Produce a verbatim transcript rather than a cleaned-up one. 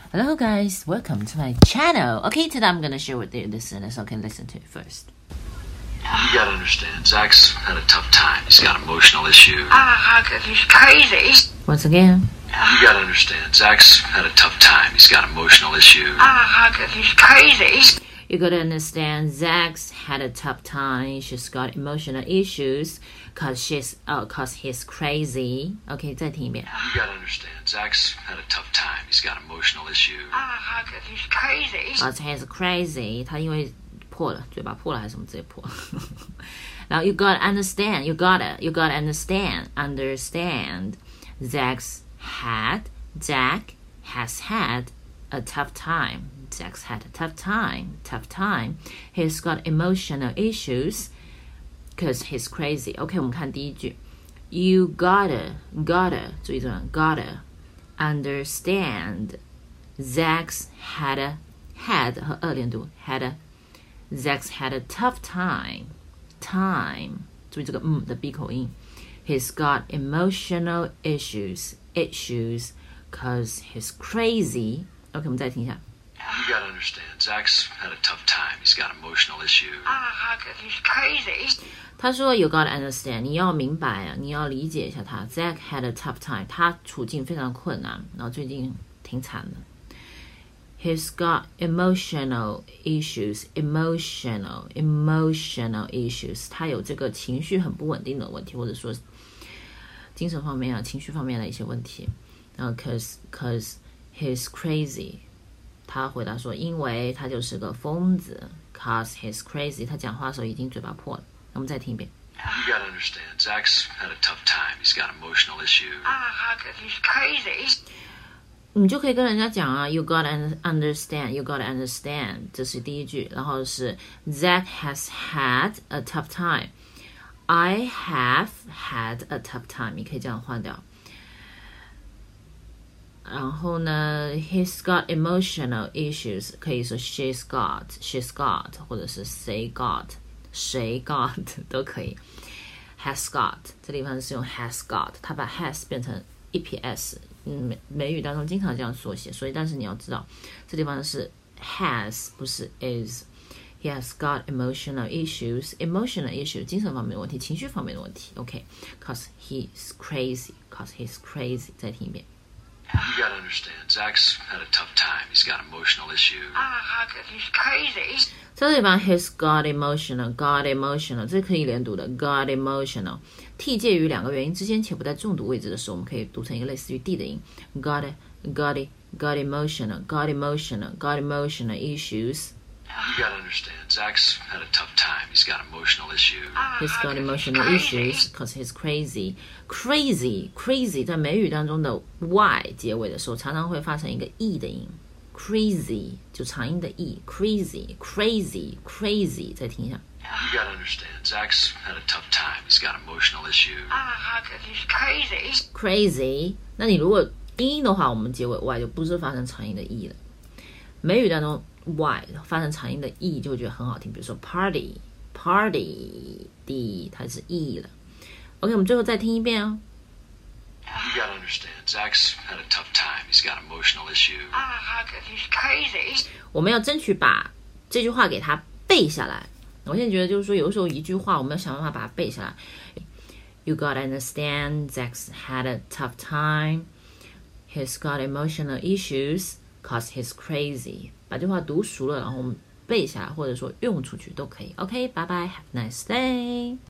Hello guys, welcome to my channel. Okay, today I'm gonna share with you listeners. Okay, listen to it first. You gotta understand, Zach's had a tough time. He's got emotional issues. Ah, oh, he's crazy. Once again. You gotta understand, Zach's had a tough time. He's got emotional issues. Ah, oh, he's crazy. You gotta understand, Zach's had a tough time. She's got emotional issues, cause she's, oh, cause he's crazy. Okay, 再听一遍。 You gotta understand, Zach's had a tough time. He's got emotional issues. Ah, oh, he's crazy. Cause he's crazy. 他因为破了，嘴巴破了还是什么直接破。然后 you gotta understand, you gotta, you gotta understand, understand. Zach's had, Zach has had a tough time. Zach's had a tough time, tough time. He's got emotional issues because he's crazy. OK, 我们看第一句 You gotta, gotta, 注意这个 gotta understand. Zach's had a, had 和二连读 had a, Zach's had a tough time, time. 注意这个嗯的闭口音 He's got emotional issues, issues because he's crazy. OK, 我们再听一下 You gotta understand, Zach's had a tough time. He's got emotional issues. Ah, oh, he's crazy. 他说 You gotta understand. 你要明白啊，你要理解一下他。Zach had a tough time. 他处境非常困难，然后最近挺惨的。He's got emotional issues. Emotional, emotional issues. 他有这个情绪很不稳定的问题，或者说精神方面啊、情绪方面的一些问题。然后 cause, cause he's crazy.他回答说因为他就是个疯子 Cause he's crazy 他讲话的时候已经嘴巴破了我们再听一遍 You gotta understand, Zach's had a tough time. He's got emotional issues. Ah, oh, he's crazy. 你就可以跟人家讲啊 You gotta understand, you gotta understand 这是第一句然后是 Zach has had a tough time I have had a tough time 你可以这样换掉然后呢 He's got emotional issues 可以说 She's got She's got 或者是 They got 谁 got 都可以 Has got 这地方是用 has got 它把 has 变成 es 嗯，美语当中经常这样缩写所以但是你要知道这地方是 has 不是 is He has got emotional issues emotional issues 精神方面的问题情绪方面的问题 OK Cause he's crazy Cause he's crazy 再听一遍 You gotta understand, Zach's had a tough time. He's got emotional issues. Ah, oh, he's crazy. 这地方 he's got emotional, got emotional 这可以连读的 got emotional t 介于两个元音之间且不在重读位置的时候我们可以读成一个类似于 d 的音 got it, got it, got emotional, got emotional, got emotional issues You gotta understand, Zach's had a tough time. He's got emotional issues. He's got emotional issues because he's crazy. Crazy, crazy 在美语当中的 y 结尾的时候，常常会发成一个 e 的音。Crazy 就长音的 e. Crazy, crazy, crazy 再听一下。 You gotta understand, Zach's had a tough time. He's got emotional issues. Ah, oh, he's crazy. Crazy 那你如果拼音的话，我们结尾 y 就不是发成长音的 e 了。美语当中 y 发成长音的 e 就会觉得很好听，比如说 party party d 它是 e 了。OK， 我们最后再听一遍哦。 You gotta understand, Zach's had a tough time. He's got emotional issues. Ah, oh, he's crazy. 我们要争取把这句话给它背下来。我现在觉得就是说，有的时候一句话我们要想办法把它背下来。You gotta understand, Zach's had a tough time. He's got emotional issues. Cause he's crazy 把这话读熟了然后我们背下来或者说用出去都可以 OK 拜拜 Have a nice day